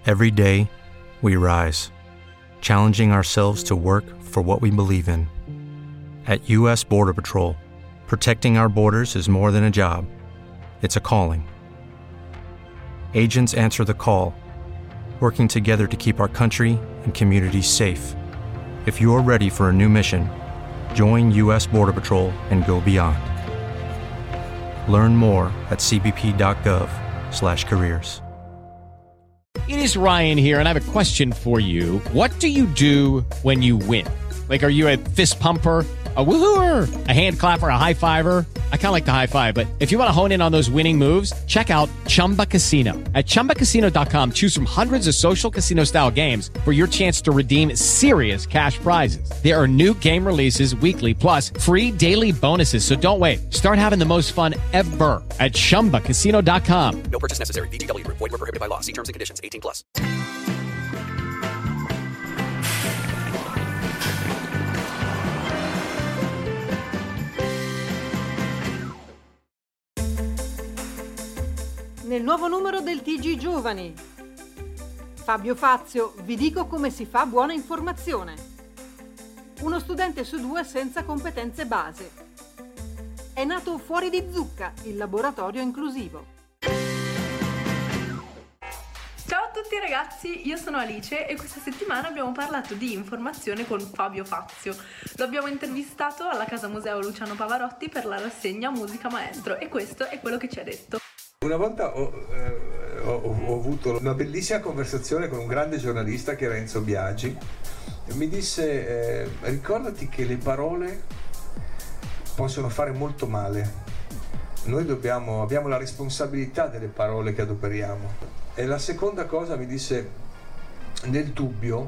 Every day, we rise, challenging ourselves to work for what we believe in. At U.S. Border Patrol, protecting our borders is more than a job. It's a calling. Agents answer the call, working together to keep our country and communities safe. If you're ready for a new mission, join U.S. Border Patrol and go beyond. Learn more at cbp.gov/careers. It is Ryan here, and I have a question for you. What do you do when you win? Like, are you a fist pumper, a woohooer, a hand clapper, a high fiver? I kind of like the high five, but if you want to hone in on those winning moves, check out Chumba Casino. At ChumbaCasino.com, choose from hundreds of social casino style games for your chance to redeem serious cash prizes. There are new game releases weekly, plus free daily bonuses. So don't wait. Start having the most fun ever at ChumbaCasino.com. No purchase necessary. VGW Group. Void where prohibited by law. See terms and conditions. 18+. Nel nuovo numero del TG Giovani. Fabio Fazio, vi dico come si fa buona informazione. Uno studente su 2 senza competenze base. È nato Fuori di Zucca, il laboratorio inclusivo. Ciao a tutti ragazzi, io sono Alice e questa settimana abbiamo parlato di informazione con Fabio Fazio. Lo abbiamo intervistato alla Casa Museo Luciano Pavarotti per la rassegna Musica Maestro e questo è quello che ci ha detto. Una volta ho avuto una bellissima conversazione con un grande giornalista che era Enzo Biagi. Mi disse, ricordati che le parole possono fare molto male. Noi abbiamo la responsabilità delle parole che adoperiamo. E la seconda cosa mi disse, nel dubbio,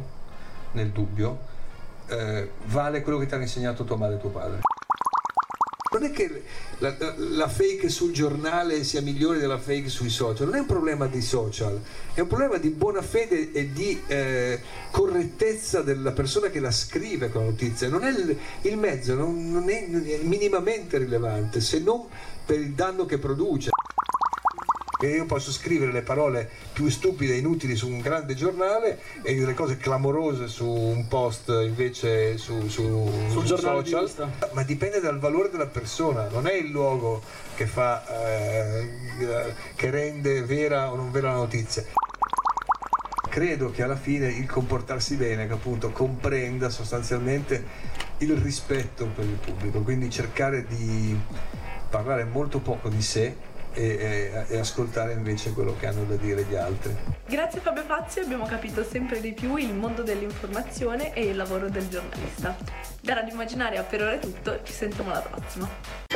vale quello che ti hanno insegnato tua madre e tuo padre. Non è che la fake sul giornale sia migliore della fake sui social, non è un problema di social, è un problema di buona fede e di correttezza della persona che la scrive con la notizia. Non è il mezzo, non è minimamente rilevante, se non per il danno che produce. E io posso scrivere le parole più stupide e inutili su un grande giornale e delle cose clamorose su un post invece sul social, ma dipende dal valore della persona, non è il luogo che fa che rende vera o non vera la notizia. Credo che alla fine il comportarsi bene, che appunto comprenda sostanzialmente il rispetto per il pubblico, quindi cercare di parlare molto poco di sé e ascoltare invece quello che hanno da dire gli altri. Grazie a Fabio Fazio abbiamo capito sempre di più il mondo dell'informazione e il lavoro del giornalista. Da Radio Immaginaria per ora è tutto, ci sentiamo alla prossima.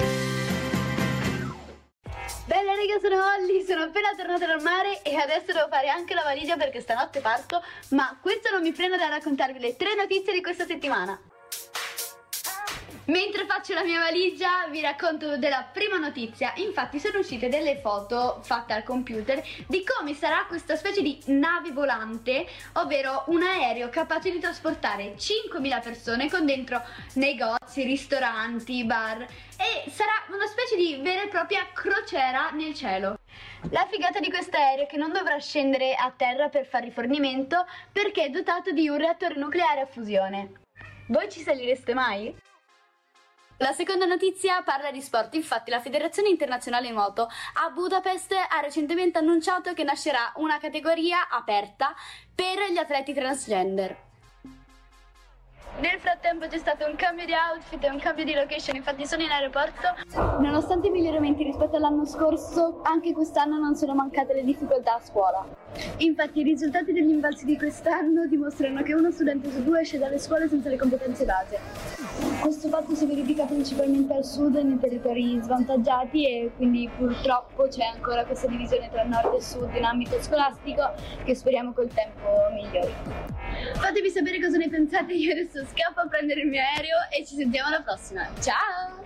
Bella raga, sono Holly, sono appena tornata dal mare e adesso devo fare anche la valigia perché stanotte parto, ma questo non mi frena da raccontarvi le 3 notizie di questa settimana. Mentre faccio la mia valigia vi racconto della prima notizia. Infatti sono uscite delle foto fatte al computer di come sarà questa specie di nave volante, ovvero un aereo capace di trasportare 5.000 persone con dentro negozi, ristoranti, bar, e sarà una specie di vera e propria crociera nel cielo. La figata di questo aereo è che non dovrà scendere a terra per fare rifornimento perché è dotato di un reattore nucleare a fusione. Voi ci salireste mai? La seconda notizia parla di sport. Infatti la Federazione Internazionale Nuoto a Budapest ha recentemente annunciato che nascerà una categoria aperta per gli atleti transgender. Nel frattempo c'è stato un cambio di outfit e un cambio di location, infatti sono in aeroporto. Nonostante i miglioramenti rispetto all'anno scorso, anche quest'anno non sono mancate le difficoltà a scuola. Infatti i risultati degli invalsi di quest'anno dimostrano che uno studente su 2 esce dalle scuole senza le competenze base. Questo fatto si verifica principalmente al sud, nei territori svantaggiati, e quindi purtroppo c'è ancora questa divisione tra nord e sud in ambito scolastico che speriamo col tempo migliori. Fatemi sapere cosa ne pensate, io adesso scappo a prendere il mio aereo e ci sentiamo alla prossima. Ciao!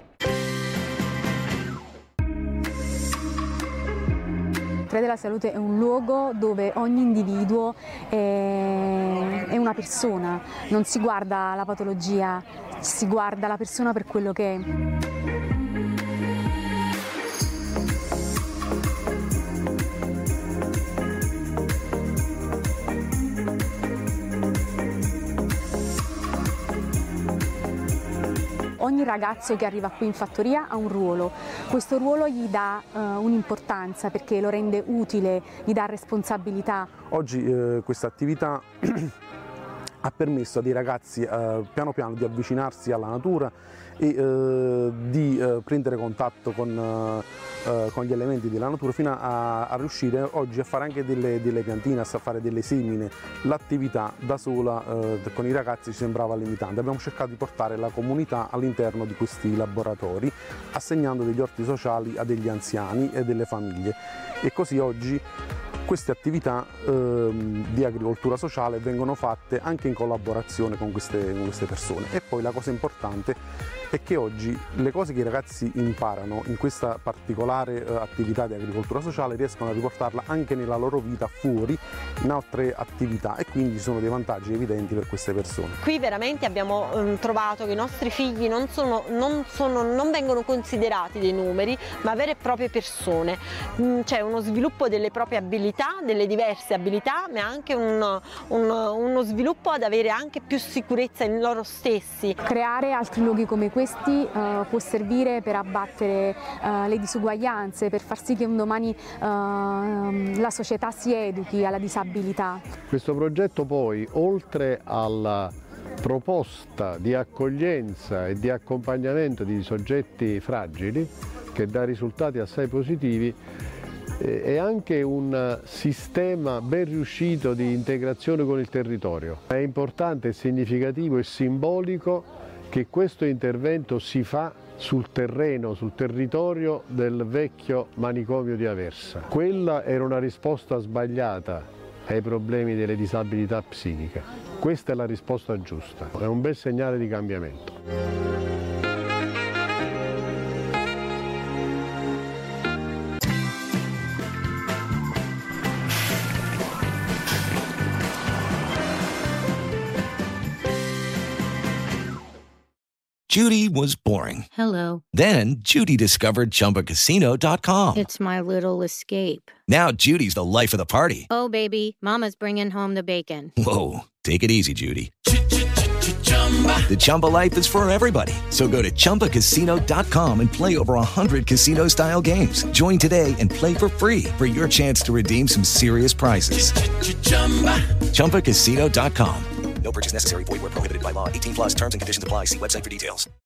Tre della Salute è un luogo dove ogni individuo è una persona, non si guarda la patologia, si guarda la persona per quello che è. ogni ragazzo che arriva qui in fattoria ha un ruolo, questo ruolo gli dà un'importanza perché lo rende utile, gli dà responsabilità. Oggi questa attività ha permesso a dei ragazzi piano piano di avvicinarsi alla natura e di prendere contatto con gli elementi della natura fino a riuscire oggi a fare anche delle piantine, a fare delle semine. L'attività da sola con i ragazzi ci sembrava limitante, abbiamo cercato di portare la comunità all'interno di questi laboratori assegnando degli orti sociali a degli anziani e delle famiglie e così oggi queste attività di agricoltura sociale vengono fatte anche in collaborazione con queste persone. E poi la cosa importante è che oggi le cose che i ragazzi imparano in questa particolare attività di agricoltura sociale riescono a riportarla anche nella loro vita fuori in altre attività e quindi ci sono dei vantaggi evidenti per queste persone. Qui veramente abbiamo trovato che i nostri figli non vengono considerati dei numeri, ma vere e proprie persone. C'è uno sviluppo delle proprie abilità, delle diverse abilità, ma anche uno sviluppo ad avere anche più sicurezza in loro stessi. Creare altri luoghi come questi può servire per abbattere le disuguaglianze, per far sì che un domani la società si educhi alla disabilità. Questo progetto poi, oltre alla proposta di accoglienza e di accompagnamento di soggetti fragili, che dà risultati assai positivi, è anche un sistema ben riuscito di integrazione con il territorio. È importante, è significativo e simbolico che questo intervento si fa sul terreno, sul territorio del vecchio manicomio di Aversa. Quella era una risposta sbagliata ai problemi delle disabilità psichiche. Questa è la risposta giusta, è un bel segnale di cambiamento. Judy was boring. Hello. Then Judy discovered ChumbaCasino.com. It's my little escape. Now Judy's the life of the party. Oh, baby, mama's bringing home the bacon. Whoa, take it easy, Judy. The Chumba life is for everybody. So go to ChumbaCasino.com and play over 100 casino-style games. Join today and play for free for your chance to redeem some serious prizes. ChumbaCasino.com. No purchase necessary. Void where prohibited by law. 18+ terms and conditions apply. See website for details.